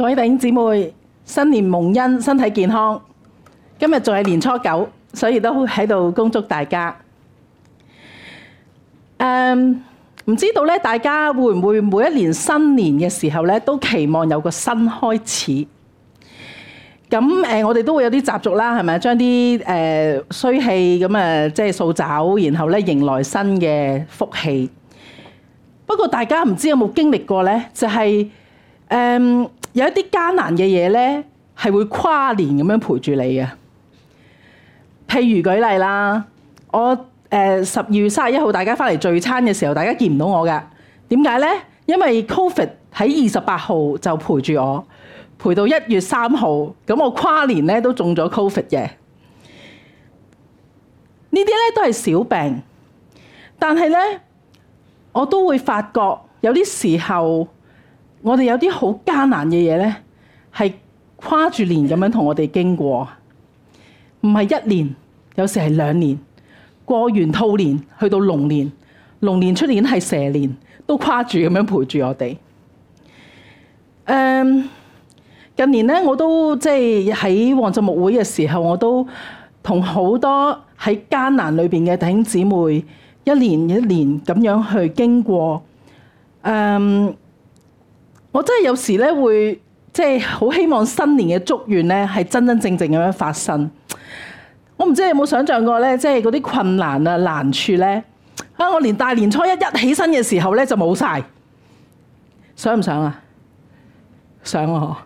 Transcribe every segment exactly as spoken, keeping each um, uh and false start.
各位弟兄姊妹，新年蒙恩，身體健康。今日仲係年初九，所以都喺度恭祝大家。誒，唔知道咧，大家會唔會每一年新年嘅時候咧，都期望有個新開始？咁誒，我哋都會有啲習俗啦，係咪？將啲誒衰氣咁誒，即係掃走，然後咧迎來新嘅福氣。不過大家唔知有冇經歷過咧，就係誒有一啲艱難嘅嘢咧，係會跨年咁樣陪住你嘅。譬如舉例啦，我誒十二月三十一號大家翻嚟聚餐嘅時候，大家見唔到我㗎。點解咧？因為 Covid 喺二十八號就陪住我，陪到一月三號，咁我跨年咧都中咗 Covid 嘅。呢啲咧都係小病，但係咧我都會發覺有啲時候，我哋有啲好艱難嘅嘢咧，係跨住年咁樣同我哋經過，唔係一年，有時係兩年，過完兔年去到龍年，龍年出年係蛇年，都跨住咁樣陪住我哋。誒，近年咧我都即係喺旺浸牧會嘅時候，我都同好多喺艱難裏邊嘅弟兄姊妹一年一年咁樣去經過。誒，我真係有時咧會即係好希望新年嘅祝願咧係真真正正咁樣發生。我唔知你有冇想象過咧，即係嗰啲困難啊難處咧啊！我連大年初一一起身嘅時候咧就冇晒，想唔想啊？想啊！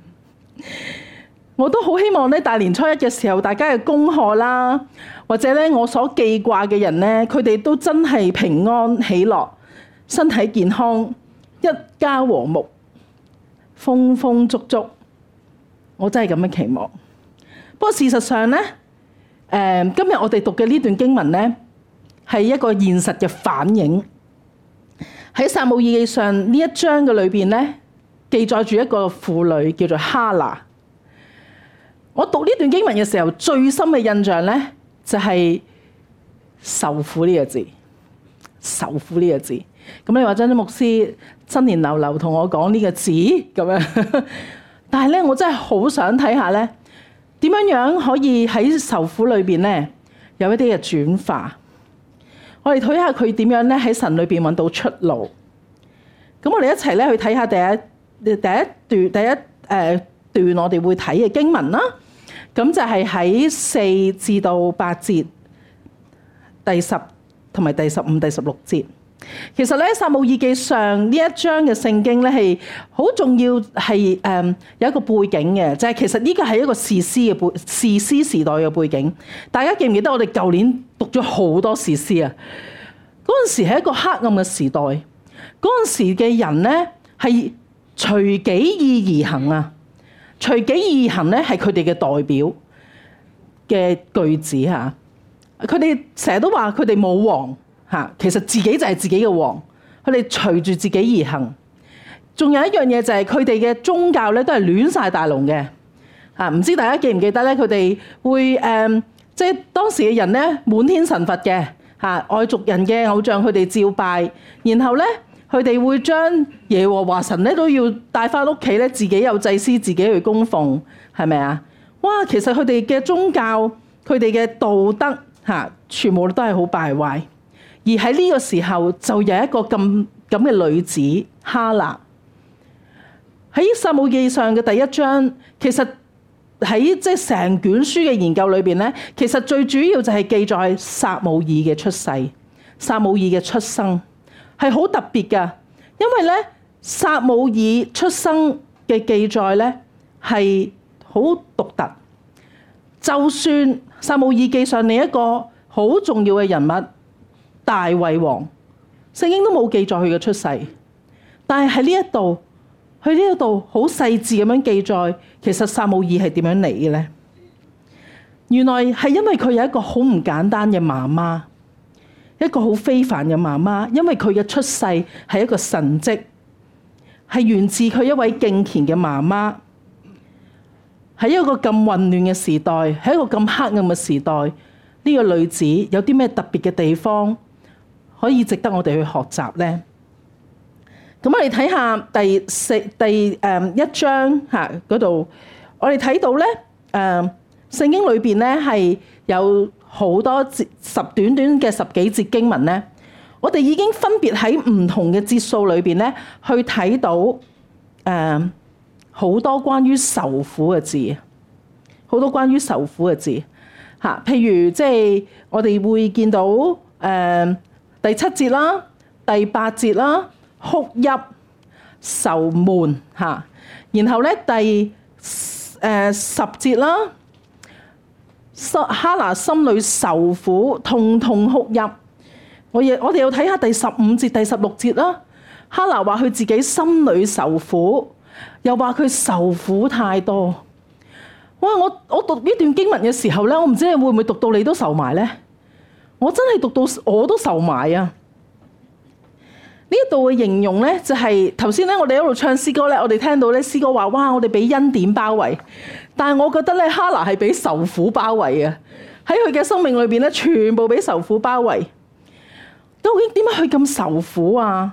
我都好希望咧大年初一嘅時候，大家嘅功課啦，或者咧我所記掛嘅人咧，佢哋都真係平安喜樂、身體健康、一家和睦、豐豐足足。我真係咁樣期望。不過事實上咧，誒今日我哋讀嘅呢段經文咧，係一個現實嘅反映。喺撒母耳記上呢一章嘅裏邊咧，記載住一個婦女叫做哈拿。我讀呢段經文嘅時候，最深嘅印象咧就係受苦呢個字，受苦呢個字。咁你話張張牧師新年流流同我講呢個字咁樣，但係咧我真係好想睇下咧，點樣樣可以喺受苦裏邊咧有一啲嘅轉化。我哋睇下佢點樣咧喺神裏邊揾到出路。咁我哋一齊咧去睇下第一第一段第一誒段我哋會睇嘅經文啦。咁就係喺四至到八節，第十同埋第十五、第十六節。其實咧，撒母耳記上呢一章嘅聖經咧係好重要，係誒有一個背景嘅，就係、是、其實呢個係一個士師嘅背士師時代嘅背景。大家記唔記得我哋舊年讀咗好多士師啊？嗰陣時係一個黑暗嘅時代，嗰陣時嘅人咧係隨己意而行啊！隨己意而行咧係佢哋嘅代表嘅句子嚇。佢哋成日都話佢哋冇王嚇，其實自己就係自己嘅王。佢哋隨住自己而行。仲有一樣嘢就係佢哋嘅宗教咧都係亂晒大龍嘅嚇。唔知大家記唔記得咧？佢哋會誒，即係當時嘅人咧滿天神佛嘅嚇，外族人嘅偶像佢哋照拜，然後咧。佢哋會將耶和華神咧都要帶翻屋企咧，自己有祭司，自己去供奉，係咪啊？哇！其實佢哋嘅宗教、佢哋嘅道德嚇，全部都係好敗壞。而喺呢個時候，就有一個咁咁嘅女子哈拿喺撒母耳記上嘅第一章。其實喺即係成卷書嘅研究裏邊咧，其實最主要就係記載撒母耳嘅出世、撒母耳嘅出生。係好特別㗎，因為咧撒母耳出生嘅記載咧係好獨特。就算撒母耳記上另一個好重要嘅人物大衛王，聖經都冇記載佢嘅出世，但係喺呢一度，佢呢一度好細緻咁樣記載，其實撒母耳係點樣嚟嘅咧？原來係因為佢有一個好唔簡單嘅媽媽。一個好非凡嘅媽媽，因為佢嘅出世係一個神蹟，係源自佢一位敬虔嘅媽媽。喺一個咁混亂嘅時代，喺一個咁黑暗嘅時代，呢個女子有啲咩特別嘅地方可以值得我哋去學習呢？ 咁我哋睇下第四第誒一章嚇嗰度，我哋睇到咧誒聖經裏邊咧係有好多節十短短嘅十幾節經文咧，我哋已經分別喺唔同嘅節數裏邊咧去睇到誒好多關於受苦嘅字，好多關於受苦嘅字嚇。譬如即係我哋會見到誒第七節啦、第八節啦。哭泣、愁悶嚇，然後咧第誒十節啦，哈拿心裏受苦，痛痛哭泣。我亦我哋要睇下第十五節、第十六節啦。哈拿話佢自己心裏受苦，又話佢受苦太多。哇！我我讀呢段經文嘅時候咧，我唔知你會唔會讀到你都受埋咧？我真係讀到我都受埋啊！呢一度嘅形容咧，就係頭先咧，我哋一路唱詩歌咧，我哋聽到咧詩歌話：哇！我哋俾恩典包圍。但係我覺得咧，哈拿係俾受苦包圍嘅。喺佢嘅生命裏邊咧，全部俾受苦包圍。究竟點解佢咁受苦啊？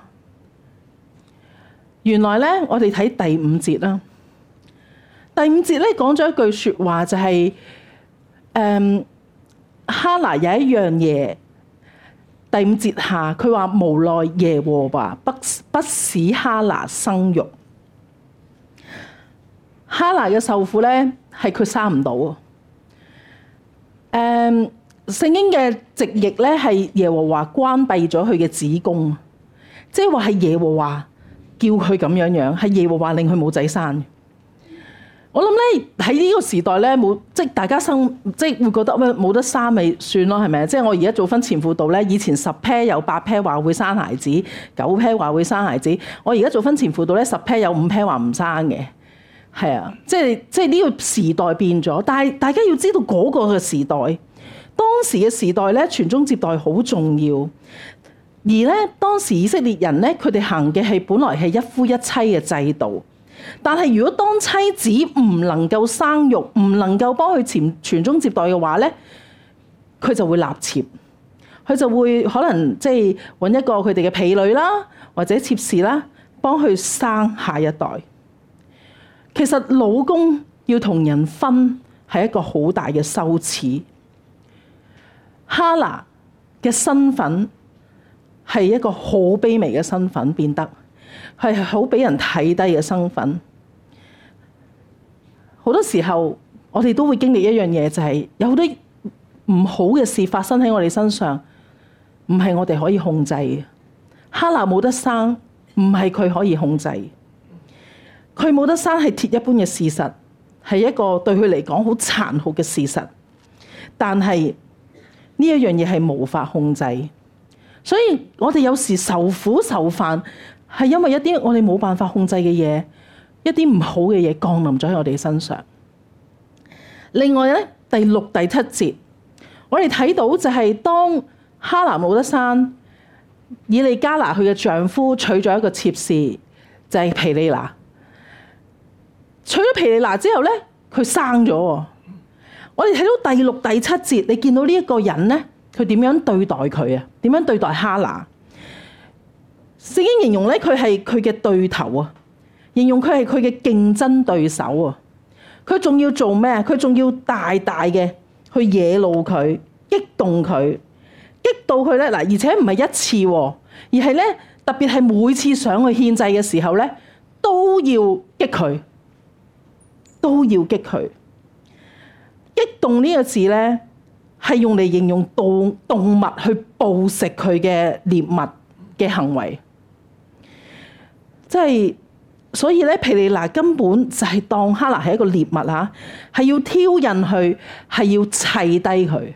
原來咧，我哋睇第五節啦。第五節咧講咗一句説話，就係、是、誒、嗯、哈拿有一樣嘢。第五節下，佢話無奈耶和華不不使哈拿生育。哈拿嘅受苦咧，係佢生唔到。誒、嗯，聖經嘅直譯咧係耶和華關閉咗佢嘅子宮，即係話係耶和華叫佢咁樣樣，係耶和華令佢冇仔生。我諗咧喺呢個時代咧冇，即係大家生即係會覺得咩冇得生咪算咯，係咪？即係我而家做婚前輔導咧，以前十 pair 有八 pair 話會生孩子，九 pair 話會生孩子。我而家做婚前輔導咧，十 pair 有五 pair 話唔生嘅，係啊，即係即係呢個時代變咗。但係大家要知道嗰個嘅時代，當時嘅時代咧，傳宗接代好重要。而咧當時以色列人咧，佢哋行嘅係本來係一夫一妻嘅制度。但係如果當妻子唔能夠生育，唔能夠幫佢傳傳宗接代嘅話咧，佢就會納妾，佢就會可能即係揾一個佢哋嘅婢女啦，或者妾侍啦，幫佢生下一代。其實老公要同人分係一個好大嘅羞恥。哈拿嘅身份係一個好卑微嘅身份，變得係好俾人睇低嘅身份。好多時候我哋都會經歷一樣嘢，就係有好多唔好嘅事發生喺我哋身上，唔係我哋可以控制嘅。哈拿冇得生，唔係佢可以控制。佢冇得生係鐵一般嘅事實，係一個對佢嚟講好殘酷嘅事實。但係呢一樣嘢係無法控制，所以我哋有時受苦受煩，係因為一啲我哋冇辦法控制嘅嘢，一啲唔好嘅嘢降臨咗喺我哋身上。另外咧，第六、第七節，我哋睇到就係當哈拿冇得生，以利加拿佢嘅丈夫娶咗一個妾侍，就係毗利拿。娶咗毗利拿之後咧，佢生咗。我哋睇到第六、第七節，你見到呢一個人咧，佢點樣對待佢啊？點樣對待哈拿？聖經形容咧，佢係佢嘅對頭啊，形容佢係佢嘅競爭對手啊。佢仲要做咩？佢仲要大大嘅去惹怒佢，激動佢，激到佢咧嗱，而且唔係一次，而係咧特別係每次上去獻祭嘅時候咧，都要激佢，都要激佢。激動呢個字咧，係用嚟形容動動物去捕食佢嘅獵物嘅行為。即係，所以咧，毗利拿根本就係當哈拿係一個獵物嚇，係要挑釁佢，係要砌低佢，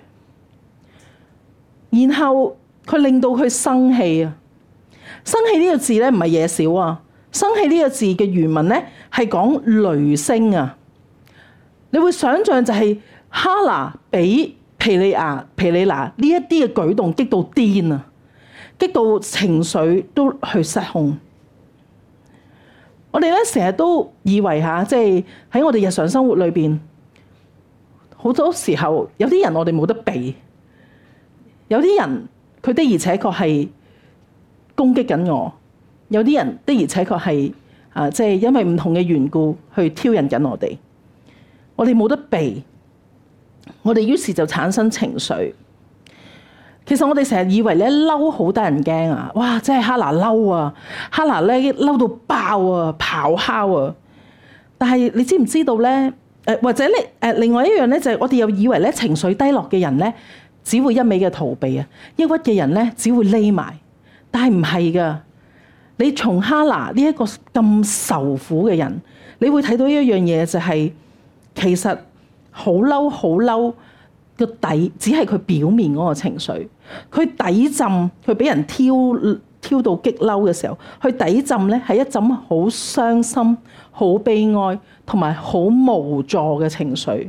然後佢令到佢生氣啊！生氣呢個字咧唔係嘢少啊！生氣呢個字嘅原文咧係講雷聲啊！你會想象就係哈拿俾毗利亞、毗利拿呢一啲嘅舉動激到癲啊，激到情緒都去失控。我哋咧成日都以為嚇，即係喺我哋日常生活裏邊，好多時候有啲人我哋冇得避，有啲人佢的而且確係攻擊緊我， 有啲人的而且確係啊，即係因為唔同嘅緣故去挑釁緊我哋，我哋冇得避，我哋於是就產生情緒。其實我哋成日以為咧嬲好得人驚啊！哇，真係哈拿嬲啊！哈拿咧嬲到爆啊，咆哮啊！但係你知唔知道咧？誒或者咧誒，另外一樣咧就係我哋又以為咧情緒低落嘅人咧，只會一味嘅逃避啊；抑鬱嘅人咧，只會匿埋。但係唔係㗎？你從哈拿呢一個咁受苦嘅人，你會睇到一樣嘢就係、是、其實好嬲好嬲。個底只係佢表面嗰個情緒，佢底浸佢俾人挑挑到激嬲嘅時候，佢底浸咧係一陣好傷心、好悲哀同埋好無助嘅情緒。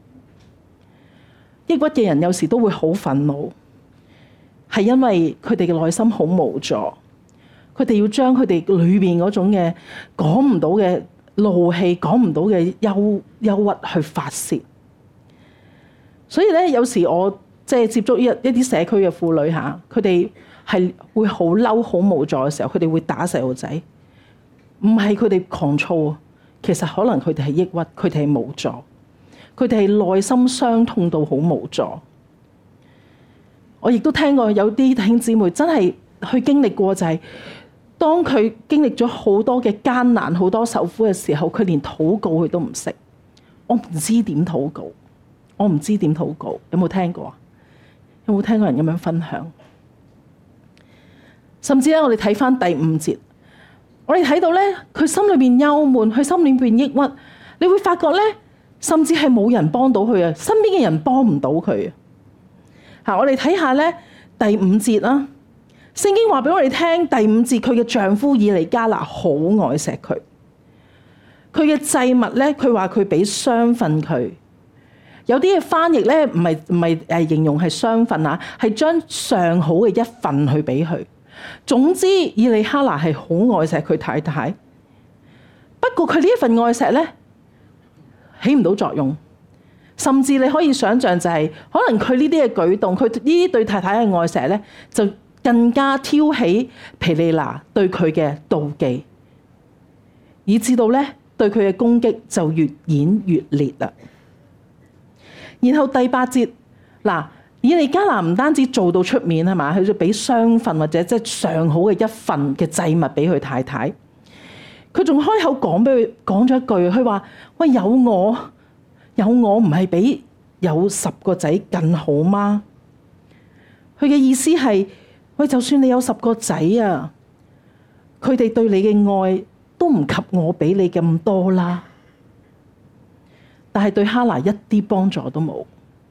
抑鬱嘅人有時都會好憤怒，係因為佢哋嘅內心好無助，佢哋要將佢哋裏邊嗰種嘅講唔到嘅怒氣、講唔到嘅憂憂鬱去發洩。所以咧，有時我即係接觸一一啲社區嘅婦女嚇，佢哋係會好嬲、好無助嘅時候，佢哋會打細路仔。唔係佢哋狂躁，其實可能佢哋係抑鬱，佢哋係無助，佢哋係內心傷痛到好無助。我亦都聽過有啲弟兄姊妹真係去經歷過、就是，就係當佢經歷咗好多嘅艱難、好多受苦嘅時候，佢連禱告佢都唔識。我唔知點禱告。我唔知點禱告，有冇聽過啊？有冇聽過人咁樣分享？甚至咧，我哋睇返第五節，我哋睇到咧，佢心裏邊憂悶，佢心裏邊抑鬱，你會發覺咧，甚至係冇人幫到佢啊，身邊嘅人幫唔到佢啊。嚇，我哋睇下咧第五節啦。聖經話俾我哋聽，第五節佢嘅丈夫以利加拿好愛錫佢，佢嘅祭物咧，佢話佢俾雙份佢。有啲嘅翻譯咧，唔係唔係誒形容係雙份啊，係將上好嘅一份去俾佢。總之，以利哈拿係好愛錫佢太太。不過佢呢一份愛錫咧，起唔到作用。甚至你可以想象就係、是，可能佢呢啲嘅舉動，佢呢啲對太太嘅愛錫咧，就更加挑起毗尼拿對佢嘅妒忌，以至到咧對佢嘅攻擊就越演越烈啦。然後第八節，嗱，以利加拿唔單止做到出面係嘛，佢就俾雙份或者即係上好嘅一份嘅祭物俾佢太太。佢仲開口講俾佢講咗一句，佢話：喂，有我有我唔係比有十個仔更好嗎？佢嘅意思係：喂，就算你有十個仔啊，佢哋對你嘅愛都唔及我俾你咁多啦。但係對哈拿一啲幫助都冇，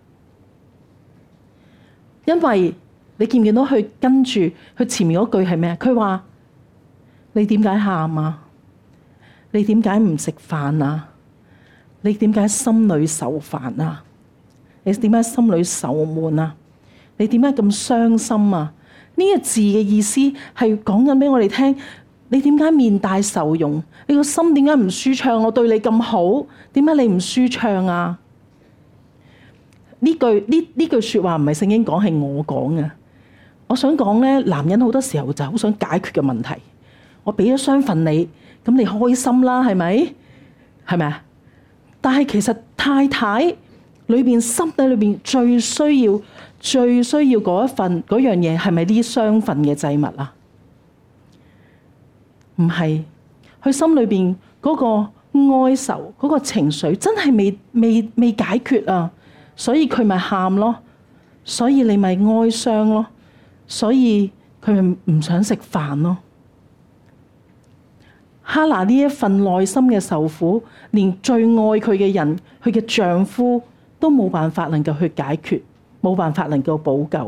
因為你見唔見到佢跟住佢前面嗰句係咩？佢話：你點解喊啊？你點解唔食飯啊？你點解心裏受煩啊？你點解心裏受悶啊？你點解咁傷心啊？呢個字嘅意思係講緊俾我哋聽。你點解面帶愁容？你個心點解唔舒暢？我對你咁好，點解你唔舒暢啊？呢句呢呢句説話唔係聖經講，係我講嘅。我想講咧，男人好多時候就好想解決嘅問題。我俾咗雙份你，咁你開心啦，係咪？係咪啊？但係其實太太裏邊心底裏邊最需要、最需要嗰一份嗰樣嘢，係咪呢雙份嘅祭物啊？唔係，佢心裏邊嗰個哀愁、嗰個情緒真係未未未解決啊，所以佢咪喊咯，所以你咪哀傷咯，所以佢咪唔想食飯咯。哈拿呢一份內心嘅受苦，連最愛佢嘅人，佢嘅丈夫都冇辦法能夠去解決，冇辦法能夠補救。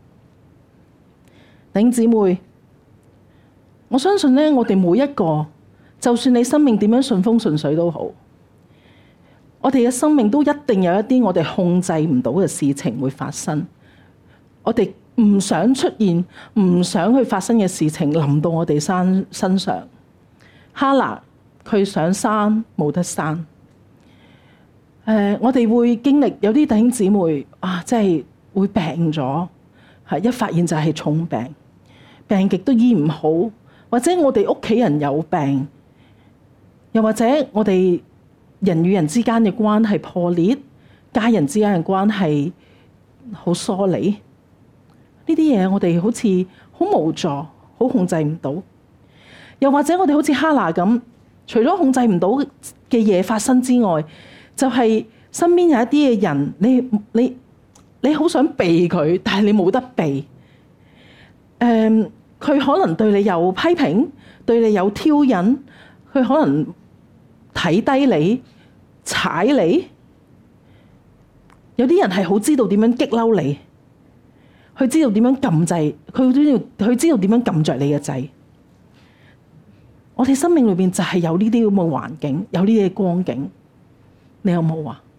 弟兄姊妹，我相信咧，我哋每一個，就算你生命點樣順風順水都好，我哋嘅生命都一定有一啲我哋控制唔到嘅事情會發生。我哋唔想出現、唔想去發生嘅事情臨到我哋身身上。哈拿佢上山冇得山。誒、呃，我哋會經歷有啲弟兄姊妹啊，即係會病咗，係一發現就係重病，病極都醫唔好。 或者我哋屋企人有病，又或者我哋人與人之間嘅關係破裂，家人之間嘅關係好疏離，呢啲嘢我哋好似好無助，好控制唔到。又或者我哋好似哈拿咁，除咗控制唔到嘅嘢發生之外，就係、是、身邊有一啲嘅人，你你你好想避佢，但係你冇得避。誒、嗯，佢可能對你有批評，對你有挑釁，佢可能睇低你、踩你。有啲人係好知道點樣激嬲你，佢知道點樣撳掣，佢知道佢知道點樣撳着你嘅掣。我哋生命裏邊就係有呢啲咁嘅環境，有呢啲嘅光景。你有冇啊？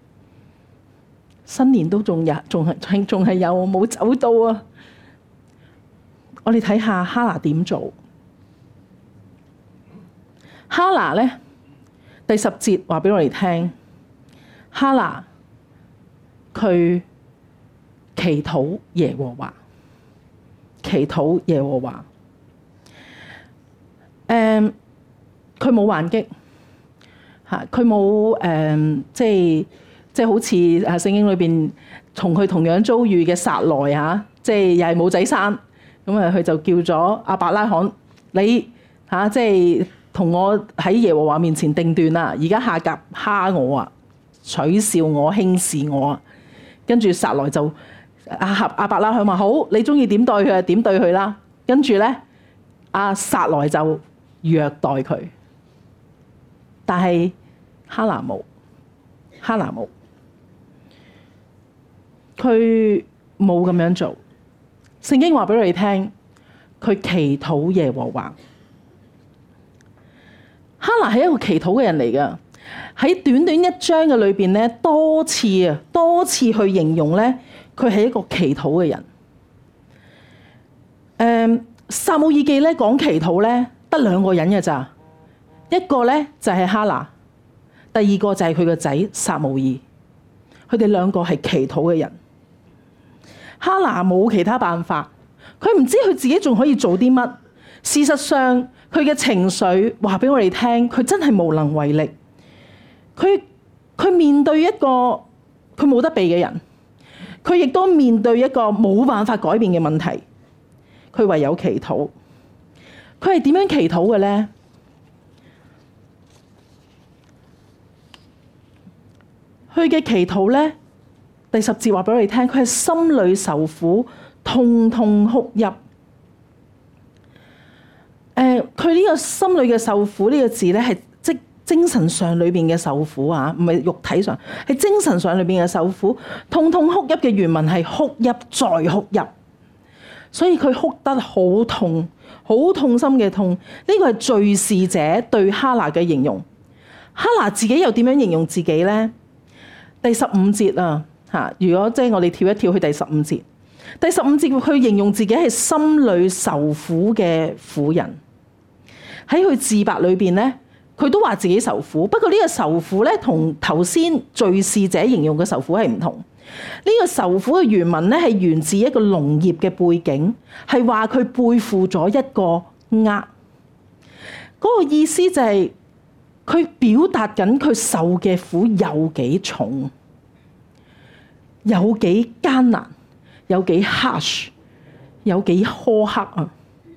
新年都仲有，仲係仲係有冇走到啊？我哋睇下哈拿點做。哈拿咧，第十節話俾我哋聽，哈拿佢祈禱耶和華，祈禱耶和華。誒，佢冇還擊嚇，佢冇誒，即係即係好似啊聖經裏邊同佢同樣遭遇嘅撒萊嚇，即係又係冇仔生，咁啊佢就叫咗亞伯拉罕，你嚇即係同我喺耶和華面前定斷啦，而家夏甲蝦我啊，取笑我，輕視我啊，跟住撒萊就阿合亞伯拉罕話好，你中意點對佢就點對佢啦，跟住咧阿撒萊就虐待佢，但係哈拿冇，哈拿冇，佢冇咁樣做。聖經話俾我哋聽，佢祈禱耶和華。哈拿係一個祈禱嘅人嚟㗎，喺短短一章嘅裏邊咧，多次啊，多次去形容咧，佢係一個祈禱嘅人。誒、嗯，撒母耳記咧講祈禱咧，得兩個人嘅咋，一個咧就係哈拿，第二個就係佢個仔撒母耳，佢哋兩個係祈禱嘅人。哈拿冇其他辦法，佢唔知佢自己仲可以做啲乜。事實上，佢嘅情緒話俾我哋聽，佢真係無能為力。佢佢面對一個佢冇得避嘅人，佢亦都面對一個冇辦法改變嘅問題，佢唯有祈禱。佢係點樣祈禱嘅咧？佢嘅祈禱咧，第十節話俾我哋聽，佢係心裏受苦，痛痛哭泣。誒、呃，佢呢個心裏嘅受苦呢個字咧，係即精神上裏邊嘅受苦啊，唔係肉體上，係精神上裏邊嘅受苦。痛痛哭泣嘅原文係哭泣再哭泣，所以佢哭得好痛，好痛心嘅痛。呢、這個係敘事者對哈拿嘅形容。哈拿自己又點樣形容自己咧？第十五節啊，嚇！如果即係我哋跳一跳去第十五節，第十五節佢形容自己係心裏受苦嘅婦人。喺佢自白裏邊咧，佢都話自己受苦。不過呢個受苦咧，同頭先敘事者形容嘅受苦係唔同。呢個受苦嘅原文咧係源自一個農業嘅背景，係話佢背負咗一個軛。嗰個意思就係佢表達緊佢受嘅苦有幾重，有幾艱難，有幾 harsh， 有幾苛刻啊！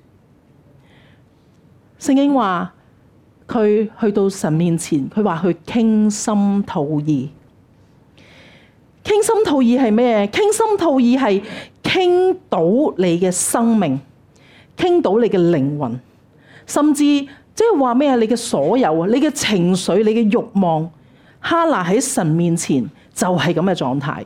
聖經話佢去到神面前，佢話佢傾心吐意。傾心吐意係咩？傾心吐意係傾到你嘅生命，傾到你嘅靈魂，甚至即係話咩啊？你嘅所有啊，你嘅情緒，你嘅慾望，哈拿喺神面前就係咁嘅狀態。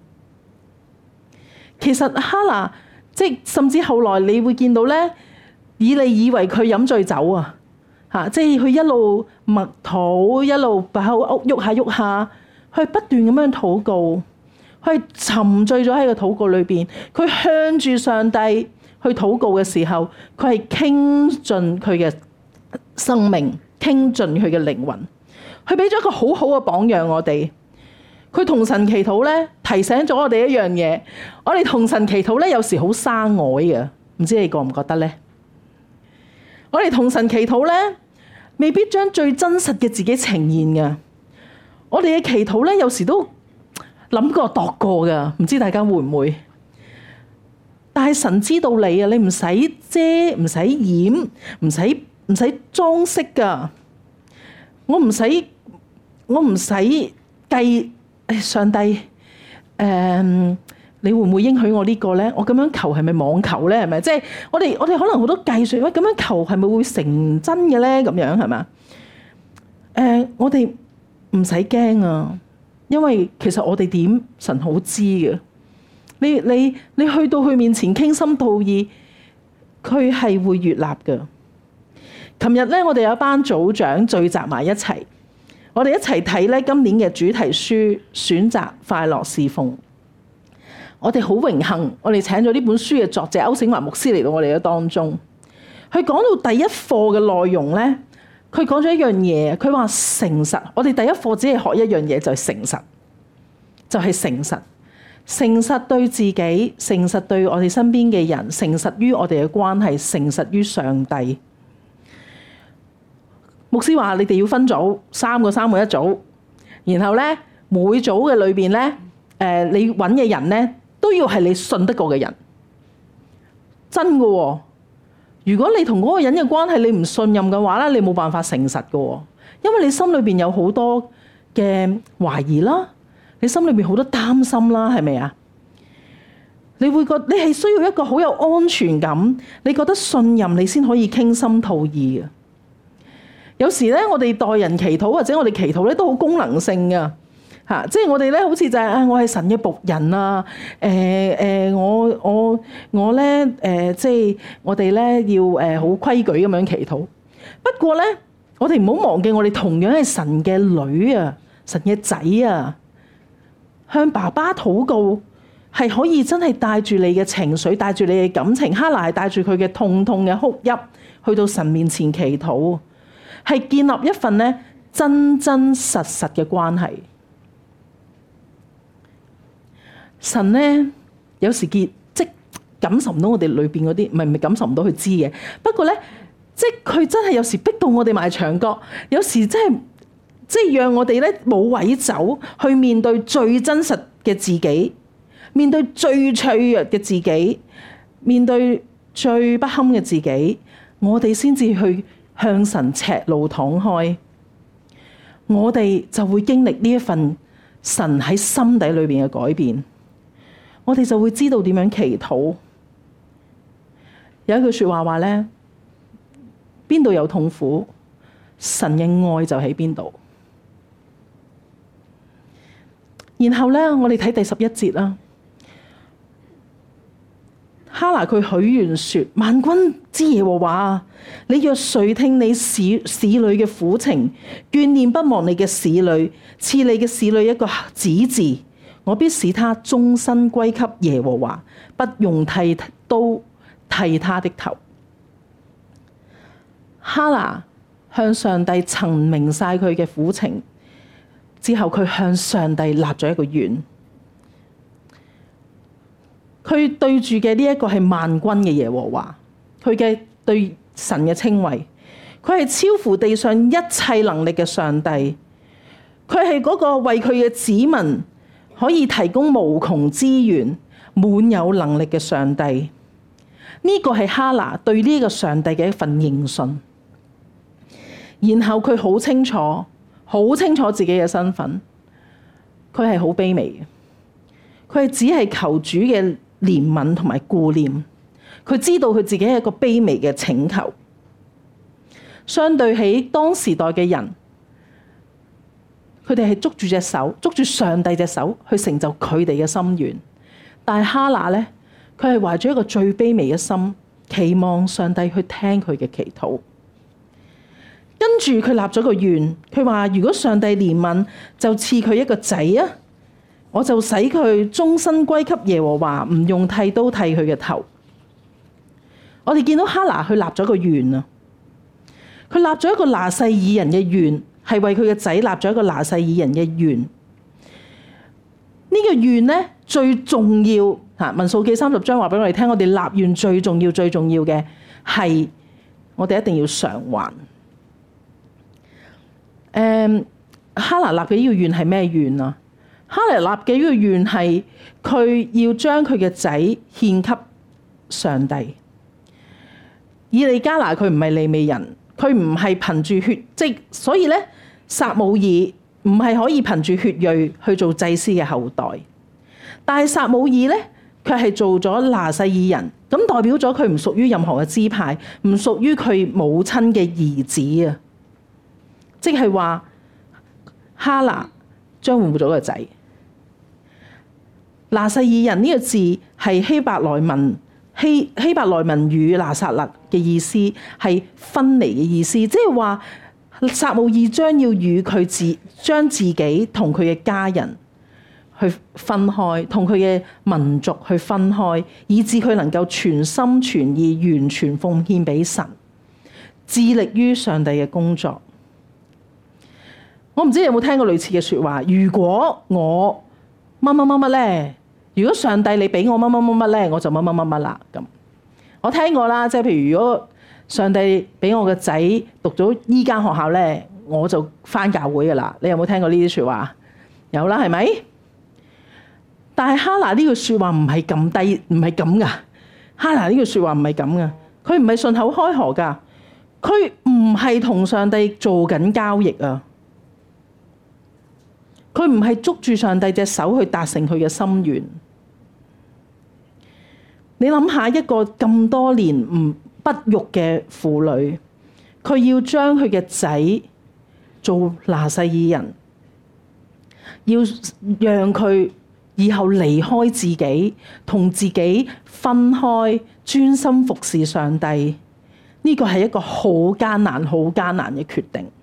其實哈拿即係甚至後來你會見到咧，以利以為佢飲醉酒啊，嚇！即係佢一路默禱，一路把口喐下喐下，佢不斷咁樣禱告，佢係沉醉咗喺個禱告裏邊。佢向住上帝去禱告嘅時候，佢係傾盡佢嘅生命，傾盡佢嘅靈魂。佢俾咗一個好好嘅榜樣我哋。佢同神祈禱咧，提醒咗我哋一樣嘢。我哋同神祈禱咧，有時好生外嘅，唔知你覺唔覺得咧？ 我哋同神祈禱咧，未必將最真實嘅自己呈現嘅。我哋嘅祈禱咧，有時都諗過度過㗎，唔知大家會唔會？但係神知道你啊，你唔使遮，唔使掩，唔使唔使裝飾㗎。我唔使，我唔使計。上帝，誒、嗯，你會唔會應許我呢個咧？我咁樣求係咪妄求咧？係咪？即係我哋我哋可能好多計算，喂，咁樣求係咪會成真嘅咧？咁樣係嘛？誒、呃，我哋唔使驚啊，因為其實我哋點神好知嘅。你你你去到佢面前傾心吐意，佢係會悅納嘅。琴日咧，我哋有一班組長聚集埋一齊。我哋一齊睇咧今年嘅主題書，選擇快樂侍奉。我哋好榮幸，我哋請咗呢本書嘅作者歐醒華牧師嚟到我哋嘅當中。佢講到第一課嘅內容咧，佢講咗一樣嘢，佢話誠實。我哋第一課只係學一樣嘢，就係誠實，就係誠實。誠實對自己，誠實對我哋身邊嘅人，誠實於我哋嘅關係，誠實於上帝。牧師話：你哋要分組，三個三個一組，然後咧每組嘅裏邊咧，誒你揾嘅人咧都要係你信得過嘅人，真嘅喎。如果你同嗰個人嘅關係你唔信任嘅話咧，你冇辦法誠實嘅喎，因為你心裏邊有好多嘅懷疑啦，你心裏邊好多擔心啦，係咪啊？你會覺你係需要一個好有安全感，你覺得信任你先可以傾心吐意嘅。有時咧，我哋待人祈禱或者我哋祈禱咧，都好功能性噶嚇，即係我哋咧好似就係、是、啊，我係神嘅僕人啊，誒、呃、誒、呃，我我我咧誒、呃，即係我哋咧要誒好規矩咁樣祈禱。不過咧，我哋唔好忘記，我哋同樣係神嘅女啊，神嘅仔啊，向爸爸禱告係可以真係帶住你嘅情緒，帶住你嘅感情。哈拿係帶住佢嘅痛痛嘅哭泣去到神面前祈禱。係建立一份咧真真實實嘅關係。神咧有時結即感受唔到我哋裏邊嗰啲，唔係唔係感受唔到佢知嘅。不過咧，即佢真係有時逼到我哋埋牆角，有時真係即係讓我哋咧冇位走去面對最真實嘅自己，面對最脆弱嘅自己，面對最不堪嘅自己，我哋先至去向神赤露敞開，我哋就會經歷呢一份神喺心底裏邊嘅改變，我哋就會知道點樣祈禱。有一句說話話咧，邊度有痛苦，神嘅愛就喺邊度。然後咧，我哋睇第十一節啦。哈拿佢許願說：萬軍之耶和華，你若垂聽你使使女嘅苦情，眷念不忘你嘅使女，賜你嘅使女一個子字，我必使他終身歸給耶和華，不用剃刀剃他的頭。哈拿向上帝陳明晒佢嘅苦情之後，佢向上帝立咗一個願。佢對住嘅呢一個係萬軍嘅耶和華，佢嘅對神嘅稱謂，佢係超乎地上一切能力嘅上帝，佢係嗰個為佢嘅子民可以提供無窮資源、滿有能力嘅上帝。呢個係哈拿對呢個上帝嘅一份認信。然後佢好清楚、好清楚自己嘅身份，佢係好卑微嘅，佢係只係求主嘅憐憫同埋顧念，佢知道佢自己係一個卑微嘅請求。相對起當時代嘅人，佢哋係捉住隻手，捉住上帝隻手去成就佢哋嘅心願。但係哈拿咧，佢係懷住一個最卑微嘅心，期望上帝去聽佢嘅祈禱。跟住佢立咗個願，佢話如果上帝憐憫，就賜佢一個仔啊！我就使佢終身歸給耶和華，唔用剃刀剃佢嘅頭。我哋見到哈拿佢立咗個願啊，佢立咗一個拿細耳人嘅願，係為佢嘅仔立咗一個拿細耳人嘅願。呢、這個願咧最重要嚇，民數記三十章話俾我哋聽，我哋立願最重要、最重要嘅係我哋一定要償還。誒、嗯，哈拿立嘅呢個願係咩願啊？哈拿立嘅呢個願係佢要將佢嘅仔獻給上帝。以利加拿佢唔係利未人，佢唔係憑住血，即係所以咧，撒母耳唔係可以憑住血裔去做祭司嘅後代。但係撒母耳咧，佢係做咗拿細耳人，咁代表咗佢唔屬於任何嘅支派，唔屬於佢母親嘅兒子啊！即係話哈拿將會冇咗個仔。拿細耳人呢個字係希伯來文希希伯來文語拿撒勒嘅意思，係分離嘅意思，即係話撒母耳將要與佢自將自己同佢嘅家人去分開，同佢嘅民族去分開，以致佢能夠全心全意完全奉獻俾神，致力於上帝嘅工作。我唔知你有冇聽過類似嘅說話，如果我乜乜乜乜咧，如果上帝你俾我乜乜乜乜咧，我就乜乜乜乜啦。咁我聽過啦，即係譬如如果上帝俾我個仔讀咗依間學校咧，我就返教會噶啦。你有冇聽過呢啲說話？有啦，係咪？但係哈拿呢句說話唔係咁低，唔係咁噶。哈拿呢句說話唔係咁噶，佢唔係順口開河噶，佢唔係同上帝做緊交易啊。佢唔係捉住上帝隻手去達成佢嘅心願。你諗下，一個咁多年唔不育嘅婦女，佢要將佢嘅仔做拿細耳人，要讓佢以後離開自己，同自己分開，專心服侍上帝。呢個係一個好艱難、好艱難嘅決定。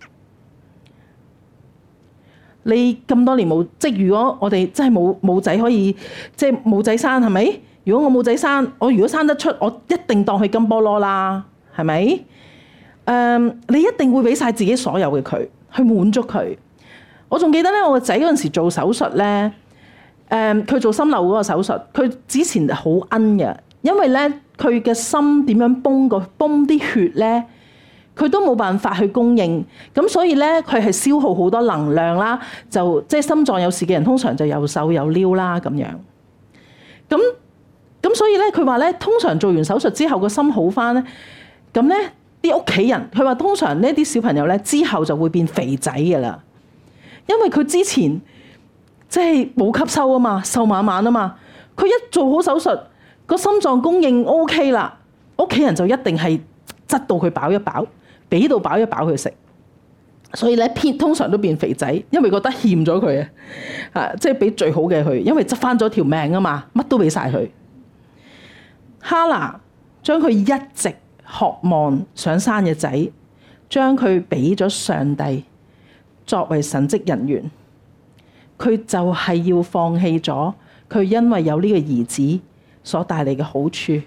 你咁多年冇，即係如果我哋真係冇冇仔可以，即係冇仔生，係咪？如果我冇仔生，我如果生得出，我一定當佢金菠蘿啦，係咪？誒、嗯，你一定會俾晒自己所有嘅佢，去滿足佢。我仲記得咧，我個仔嗰陣時做手術咧，誒、嗯，佢做心瘤嗰個手術，佢之前好奀嘅，因為咧佢嘅心點樣泵個泵啲血咧，佢都冇辦法去供應，咁所以咧佢係消耗好多能量啦，就即係心臟有事嘅人通常就又瘦又溜啦咁樣。咁咁所以咧佢話咧，通常做完手術之後個心好返咧，咁咧啲屋企人佢話通常呢啲小朋友咧之後就會變肥仔㗎喇，因為佢之前即係冇吸收啊嘛，瘦蜢蜢啊嘛，佢一做好手術個心臟供應 OK 啦，屋企人就一定係執到佢飽一飽。俾到飽一飽佢食，所以咧偏通常都變肥仔，因為覺得欠咗佢啊，啊即係俾最好嘅佢，因為執翻咗條命啊嘛，乜都俾晒佢。哈拿將佢一直渴望想生嘅仔，將佢俾咗上帝作為神職人員，佢就係要放棄咗佢因為有呢個兒子所帶嚟嘅好處。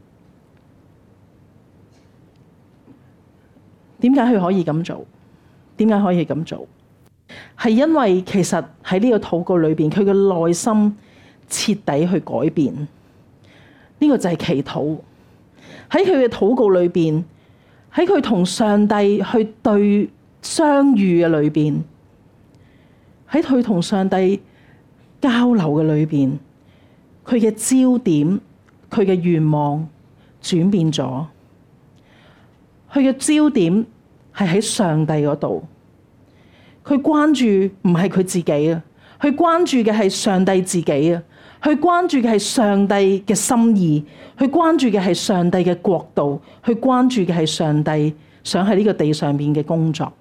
點解佢可以咁做？點解可以咁做？係因為其實喺呢個禱告裏邊，佢嘅內心徹底去改變。呢個就係祈禱。喺佢嘅禱告裏邊，喺佢同上帝去對相遇嘅裏邊，喺佢同上帝交流嘅裏邊，佢嘅焦點、佢嘅願望轉變咗。佢嘅焦點係喺上帝嗰度，佢關注唔係佢自己啊，佢關注嘅係上帝自己啊，佢關注嘅係上帝嘅心意，佢關注嘅係上帝嘅國度，佢關注嘅係上帝想喺呢個地上面嘅工作。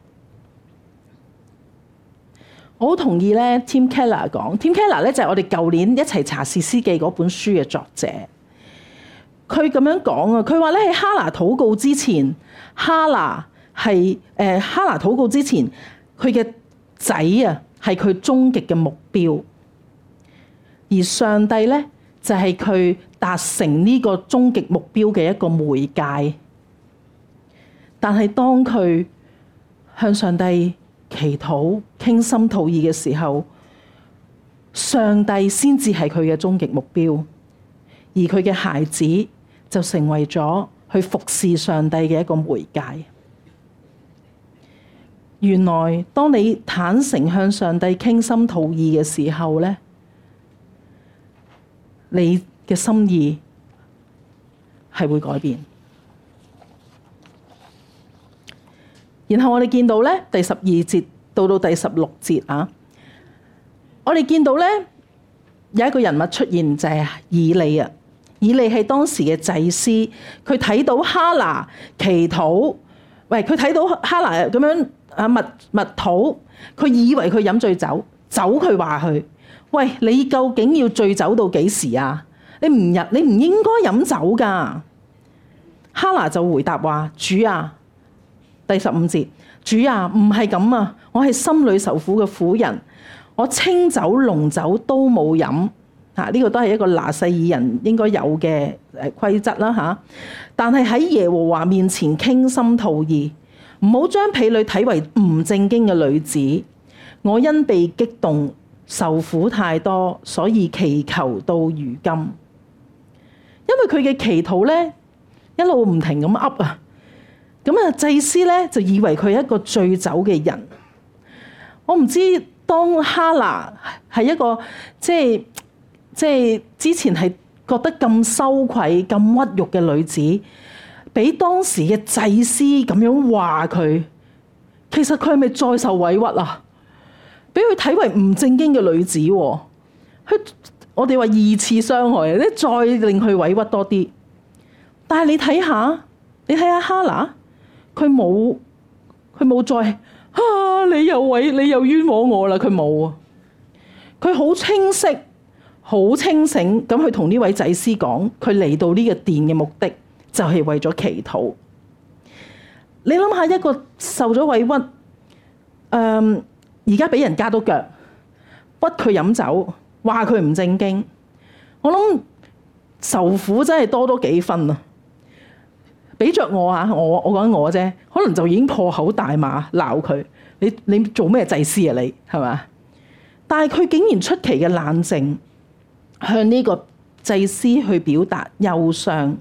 我好同意咧，Tim Keller 講，Tim Keller 咧就係我哋舊年一齊查士師記嗰本書嘅作者。佢咁樣講啊，佢話咧喺哈拿禱告之前，哈拿係誒哈拿禱告之前，佢嘅仔啊係佢終極嘅目標，而上帝咧就係佢達成呢個終極目標嘅一個媒介。但係當佢向上帝祈禱、傾心吐意嘅時候，上帝先至係佢嘅終極目標，而佢嘅孩子就成為咗去服侍上帝嘅一個媒介。原來當你坦誠向上帝傾心吐意嘅時候咧，你嘅心意係會改變。然後我哋見到咧第十二節到到第十六節啊，我哋見到咧有一個人物出現，就係以利啊。以利係當時嘅祭司，佢睇到哈拿祈禱，喂，佢睇到哈拿咁樣啊密密禱，佢以為佢飲醉酒，走佢話佢，喂，你究竟要醉酒到幾時啊？你唔日你唔應該飲酒噶。哈拿就回答話：主啊，第十五節，主啊，唔係咁啊，我係心裏受苦嘅婦人，我清酒濃酒都冇飲。啊！呢個都係一個拿細耳人應該有嘅誒規則啦嚇。但係喺耶和華面前傾心吐意，唔好將婢女睇為唔正經嘅女子。我因被激動受苦太多，所以祈求到如今。因為佢嘅祈禱咧一路唔停咁噏啊，咁啊祭司咧就以為佢係一個醉酒嘅人。我唔知當哈拿係一個即係。即係之前係覺得咁羞愧、咁屈辱嘅女子，俾當時嘅祭司咁樣話佢，其實佢係咪再受委屈啊？俾佢睇為唔正經嘅女子，佢我哋話二次傷害，咧再令佢委屈多啲。但係你睇下，你睇下哈拿，佢冇佢冇再啊！你又委你又冤枉我啦！佢冇啊，佢好清晰。好清醒咁去同呢位祭司講，佢嚟到呢個殿嘅目的就係為咗祈禱。你諗下一個受咗委屈，誒而家俾人加到腳，屈佢飲酒，話佢唔正經，我諗受苦真係多多幾分啊！俾着我啊，我我講緊我啫，可能就已經破口大罵鬧佢，你你做咩祭司啊你係嘛？但係佢竟然出奇嘅冷靜。向呢個祭司去表達憂傷，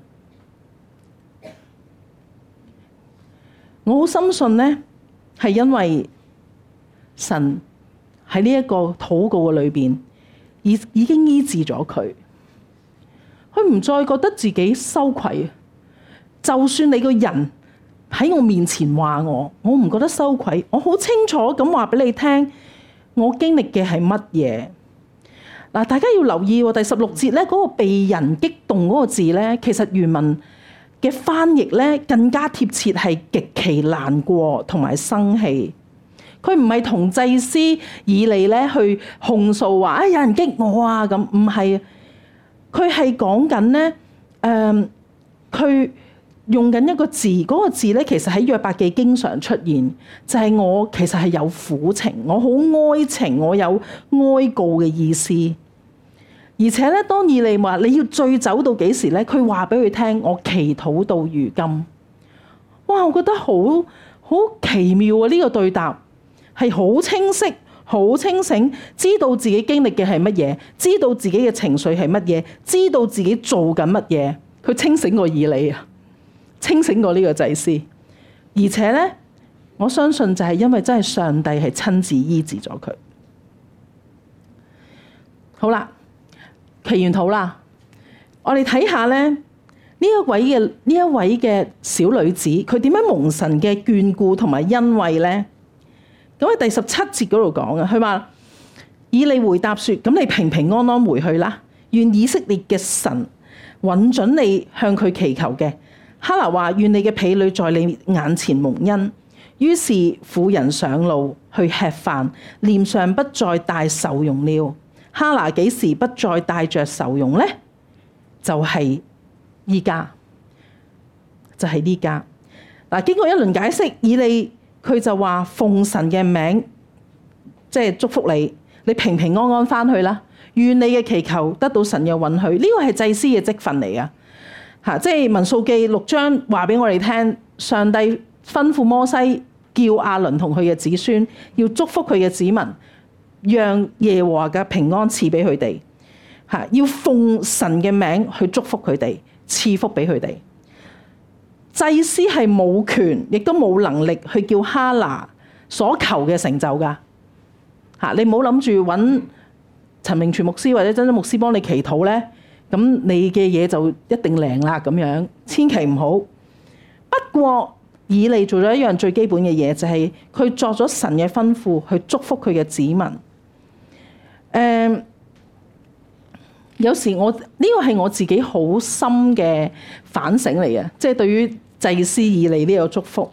我好深信呢係因為神喺呢一個禱告嘅裏邊，已已經醫治咗佢，佢唔再覺得自己羞愧。就算你個人喺我面前話我，我唔覺得羞愧，我好清楚咁話俾你聽，我經歷嘅係乜嘢。嗱，大家要留意喎，第十六節咧嗰個被人激動嗰個字咧，其實原文嘅翻譯咧更加貼切係極其難過同埋生氣。佢唔係同祭司以利咧去控訴話，哎，有人激我啊咁，唔係。佢係講緊咧，誒、呃，佢用緊一個字，嗰、嗰個字咧其實喺約伯記經常出現，就係、是、我其實係有苦情，我好哀情，我有哀告嘅意思。而且咧，當以利話你要醉酒到幾時咧？佢話俾佢聽，我祈禱到如今。哇！我覺得好好奇妙啊！呢、這個對答係好清晰、好清醒，知道自己經歷嘅係乜嘢，知道自己嘅情緒係乜嘢，知道自己做緊乜嘢。佢清醒過以利啊！清醒過呢個祭司，而且咧，我相信就係因為真係上帝係親自醫治咗佢。好啦，祈完禱啦，我哋睇下咧呢一位嘅呢一位嘅小女子，佢點樣蒙神嘅眷顧同埋恩惠咧？咁喺第十七節嗰度講啊，佢話以利回答說：咁你平平安安回去啦，願以色列嘅神允准你向佢祈求嘅。哈拿話：願你嘅婢女在你眼前蒙恩。於是婦人上路去吃飯，臉上不再帶愁容了。哈拿幾時不再帶着愁容呢？就係依家，就係呢家。嗱，經過一輪解釋，以利佢就話奉神嘅名，即係祝福你，你平平安安翻去啦。願你嘅祈求得到神嘅允許。呢個係祭司嘅職分嚟噶。嚇！即係民數記六章話俾我哋聽，上帝吩咐摩西叫亞倫同佢嘅子孫要祝福佢嘅子民，讓耶和華嘅平安賜俾佢哋。嚇！要奉神嘅名去祝福佢哋，賜福俾佢哋。 祭司係冇權，亦都冇能力去叫哈拿所求嘅成就噶。嚇，你唔好諗住揾陳明全牧師或者真真牧師幫你祈禱咧，咁你嘅嘢就一定靈啦咁樣，千祈唔好。不過以利做咗一樣最基本嘅嘢，就係佢作咗神嘅吩咐去祝福佢嘅子民。誒、嗯，有時我呢、這個係我自己好深嘅反省嚟嘅，即係對於祭司以利呢個祝福。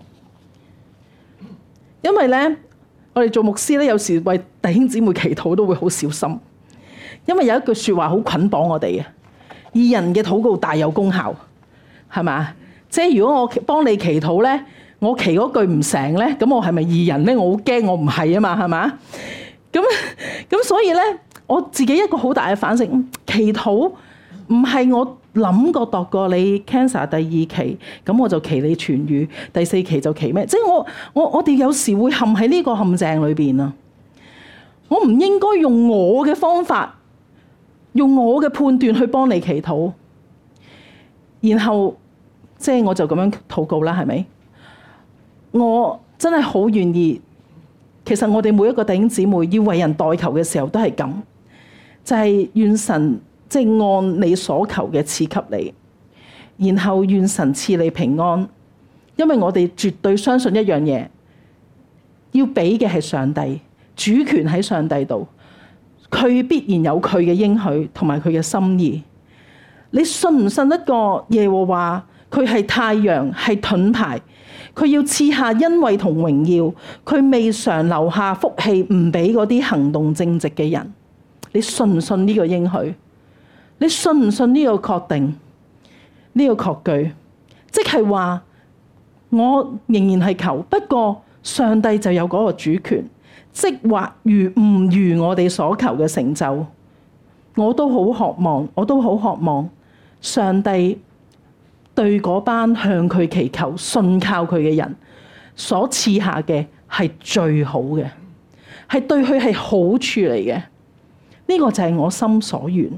因為咧，我哋做牧師咧，有時為弟兄姊妹祈禱都會好小心，因為有一句説話好捆綁我哋嘅，義人嘅禱告大有功效，係咪？即係如果我幫你祈禱咧，我祈嗰句唔成咧，咁我係咪義人咧？我好驚我唔係啊嘛，係嘛？咁咁所以咧，我自己一個好大嘅反省，祈禱唔係我諗過度過你 cancer 第二期，咁我就祈你痊癒，第四期就祈咩？即係我我我哋有時會陷喺呢個陷阱裏邊啊！我唔應該用我嘅方法，用我嘅判斷去幫你祈禱，然後。即係我就咁樣禱告啦，係咪？我真係好願意。其實我哋每一個弟兄姊妹要為人代求嘅時候都係咁，就係、是、願神即係、就是、按你所求嘅賜給你，然後願神賜你平安。因為我哋絕對相信一樣嘢，要俾嘅係上帝，主權喺上帝度，佢必然有佢嘅應許同埋佢嘅心意。你信唔信一個耶和華？佢係太陽，係盾牌，佢要賜下恩惠同榮耀，佢未嘗留下福氣唔俾嗰啲行動正直嘅人。你信唔信呢個應許？你信唔信呢個確定？呢、這個確據，即係話我仍然係求，不過上帝就有嗰個主權，即或如唔如我哋所求嘅成就，我都好渴望，我都好渴望上帝。對嗰班向佢祈求、信靠佢嘅人所賜下嘅係最好嘅，係對佢係好處嚟嘅。呢、這個就係我心所願。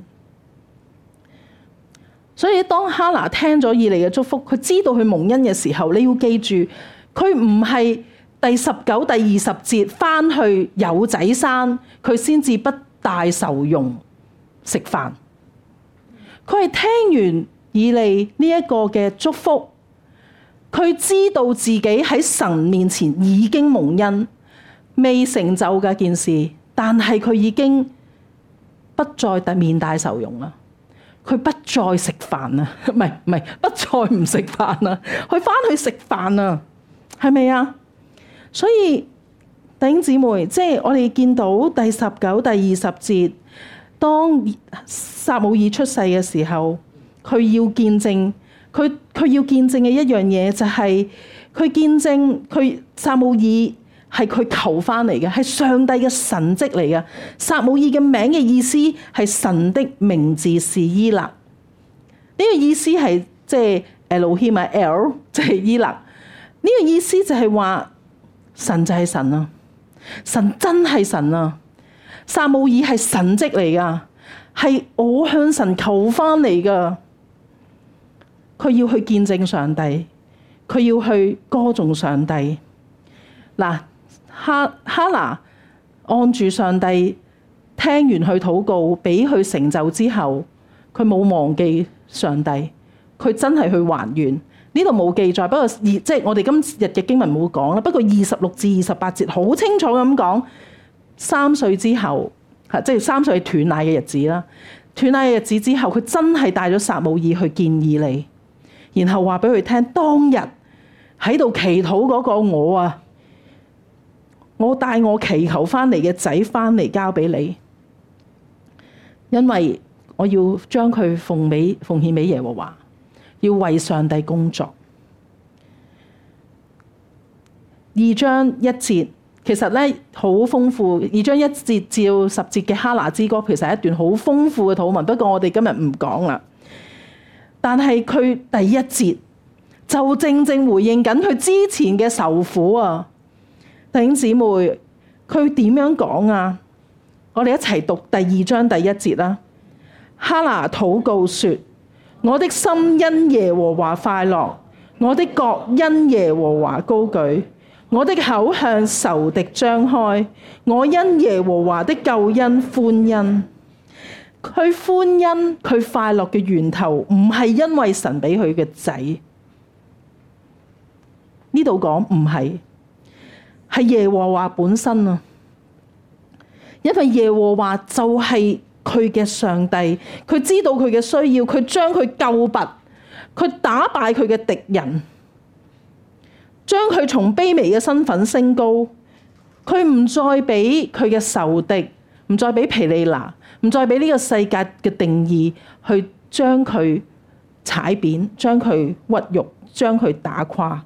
所以當哈拿聽咗以利嘅祝福，佢知道佢蒙恩嘅時候，你要記住，佢唔係第十九、第二十節返去有仔生，佢先至不大受用食飯。佢係聽完以利呢一個嘅祝福，佢知道自己喺神面前已經蒙恩，未成就嘅件事，但係佢已經不再面帶愁容啦。佢不再食飯啦，唔係唔係，不再唔食飯啦，佢翻去食飯啦，係咪啊？所以弟兄姊妹，即係我哋見到第十九、第二十節，當撒母耳出世嘅時候。佢要見證，佢佢要見證嘅一樣嘢就係佢見證佢撒母耳係佢求翻嚟嘅，係上帝嘅神蹟嚟嘅。撒母耳嘅名嘅意思係神的名字是伊勒，呢、這個意思係即係 Elohim 啊 ，El 即係伊勒。呢、這個意思就係話神就係神啊，神真係神啊。撒母耳係神蹟嚟噶，係我向神求翻嚟噶。佢要去見證上帝，佢要去歌頌上帝。嗱，哈哈拿按住上帝聽完佢禱告，俾佢成就之後，佢冇忘記上帝，佢真係去還願。呢度冇記載，不過二即係我哋今日嘅經文冇講啦。不過二十六至二十八節好清楚咁講，三歲之後，嚇即係三歲斷奶嘅日子啦。斷奶嘅日子之後，佢真係帶咗撒母耳去見以利。然後話俾佢聽，當日喺度祈禱嗰個我啊，我帶我祈求翻嚟嘅仔翻嚟交俾你，因為我要將佢奉俾奉獻俾耶和華，要為上帝工作。二章一節其實咧好豐富，二章一節至十節嘅哈拿之歌其實係一段好豐富嘅禱文，不過我哋今日唔講啦。但係佢第一節就正正回應緊佢之前嘅受苦啊！弟兄姊妹，佢點樣講啊？我哋一齊讀第二章第一節啦。哈拿禱告說：我的心因耶和華快樂， 我的角因耶和華高舉，我的口向仇敵張開，我因耶和華的救恩歡欣。佢歡欣，佢快樂嘅源頭唔係因為神俾佢嘅仔，呢度講唔係，係耶和華本身啊！因為耶和華就係佢嘅上帝，佢知道佢嘅需要，佢將佢救拔，佢打敗佢嘅敵人，將佢從卑微嘅身份升高，佢唔再俾佢嘅仇敵，唔再俾毗利拿，唔再俾呢個世界嘅定義去將佢踩扁，將佢屈辱，將佢打垮。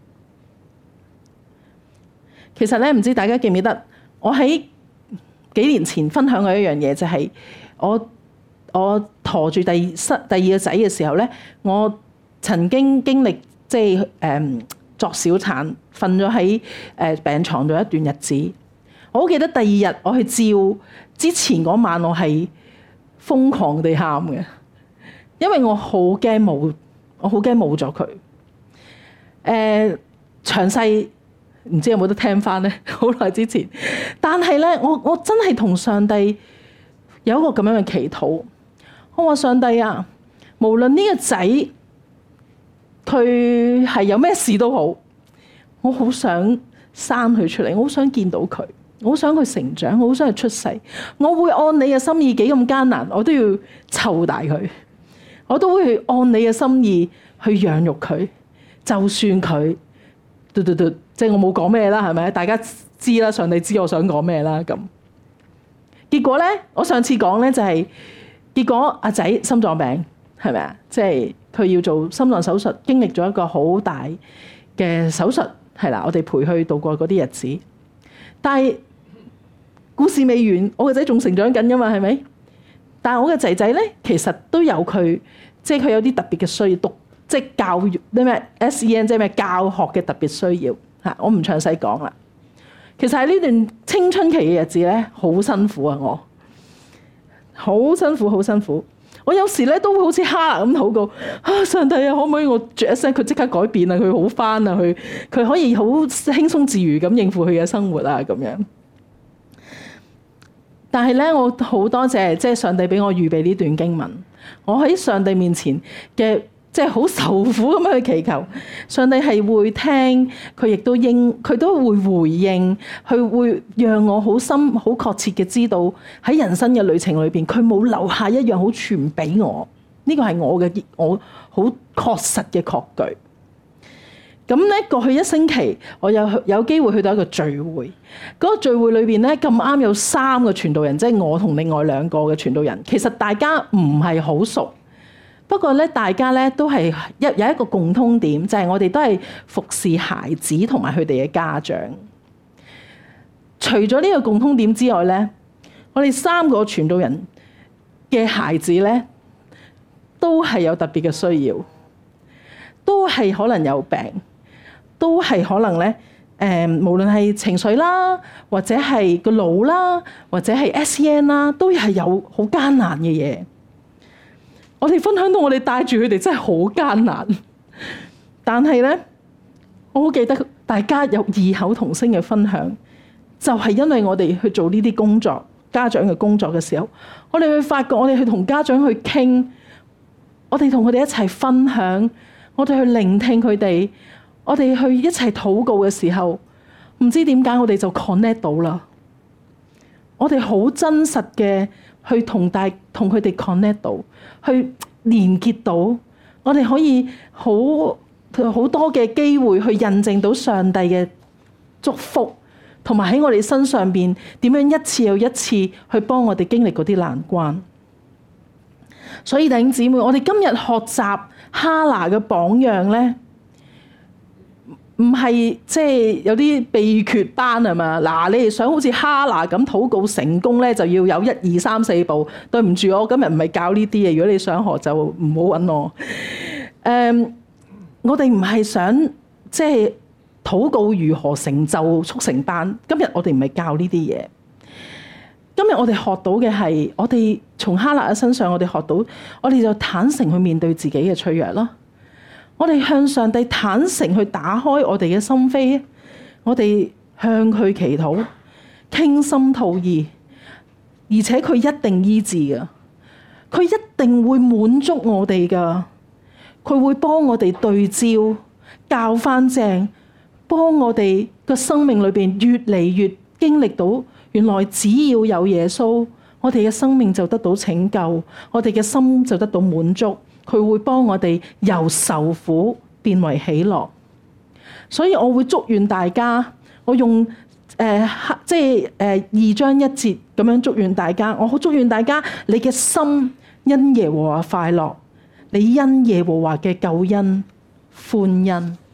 其實咧，唔知大家記唔記得，我喺幾年前分享過一樣嘢，就係、是、我我陀住第二第二個仔嘅時候咧，我曾經經歷即係誒作小產，瞓咗喺誒病床度一段日子。我好記得第二日我去照之前嗰晚，我係瘋狂地喊嘅，因為我好驚冇，我好驚冇咗佢。誒、呃、詳細唔知有冇得聽翻咧？好耐之前，但係咧，我我真係同上帝有一個咁樣嘅祈禱。我話上帝啊，無論呢個仔佢係有咩事都好，我好想生佢出嚟，我好想見到佢。我好想佢成長，我好想佢出世。我會按你嘅心意，幾咁艱難，我都要湊大佢。我都會去按你嘅心意去養育佢。就算佢，嘟嘟嘟，即係我冇講咩啦，係咪？大家知啦，上帝知我想講咩啦。咁結果咧，我上次講咧就係、是、結果阿仔心臟病，係咪啊？即係佢要做心臟手術，經歷咗一個好大嘅手術，係啦，我哋陪佢度過嗰啲日子，但係。故事未完，我個仔仲成長緊㗎嘛，係咪？但係我嘅仔仔咧，其實都有佢，即係佢有啲特別嘅需要，讀即係教育啲咩 S E N， 即係咩教學嘅特別需要嚇。我唔詳細講啦。其實喺呢段青春期嘅日子咧，好辛苦啊！我好辛苦，好辛苦。我有時咧都會好似哈拿咁禱告啊，上帝啊，可唔可以我著一聲佢即刻改變啊？佢好返啊！佢佢可以好輕鬆自如咁應付佢嘅生活啊，咁樣。但係咧，我好多謝即係上帝俾我預備呢段經文。我喺上帝面前嘅即係好受苦咁樣去祈求，上帝係會聽，佢亦都應，佢都會回應，佢會讓我好深、好確切嘅知道喺人生嘅旅程裏邊，佢冇留下一樣好傳俾我。呢個係我嘅我好確實嘅確據。咁咧，過去一星期，我有有機會去到一個聚會。嗰個聚會裏邊咧，咁啱有三個傳道人，即係我同另外兩個嘅傳道人。其實大家唔係好熟，不過咧，大家咧都係一有一個共通點，就係我哋都係服侍孩子同埋佢哋嘅家長。除咗呢個共通點之外咧，我哋三個傳道人嘅孩子咧，都係有特別嘅需要，都係可能有病。都係可能咧，誒、呃，無論係情緒啦，或者係個腦啦，或者係 S E N 啦，都係有好艱難嘅嘢。我哋分享到我哋帶住佢哋真係好艱難，但係咧，我好記得大家有異口同聲嘅分享，就係、是、因為我哋去做呢啲工作，家長嘅工作嘅時候，我哋去發覺，我哋去同家長去傾，我哋同佢哋一齊分享，我哋去聆聽佢哋。我哋去一齊禱告嘅時候，唔知點解我哋就 connect 到啦。我哋好真實嘅去同大同佢哋 connect 到，去連結到。我哋可以好好多嘅機會去印證到上帝嘅祝福，同埋喺我哋身上邊點樣一次又一次去幫我哋經歷嗰啲難關。所以弟兄姊妹，我哋今日學習哈拿嘅榜樣咧。唔係即係有啲秘訣班係嘛？嗱，你哋想好似哈拿咁禱告成功咧，就要有一二三四步。對唔住，我今日唔係教呢啲嘢。如果你想學，就唔好揾我。誒、um，我哋唔係想即係禱告如何成就速成班。今日我哋唔係教呢啲嘢。今日我哋學到嘅係，我哋從哈拿嘅身上，我哋學到，我哋就坦誠去面對自己嘅脆弱咯。 我哋向上帝坦誠去打開我哋嘅心扉，我哋向佢祈禱，傾心吐意，而且佢一定醫治嘅，佢一定會滿足我哋噶，佢會幫我哋對焦，校翻正，幫我哋個生命裏邊越嚟越經歷到，原來只要有耶穌，我哋嘅生命就得到拯救，我哋嘅心就得到滿足。佢會幫我哋由受苦變為喜樂。所以我會祝願大家，我用誒、呃、即係誒、呃、二章一節咁樣祝願大家。我好祝願大家，你嘅心因耶和華快樂，你因耶和華嘅救恩歡欣。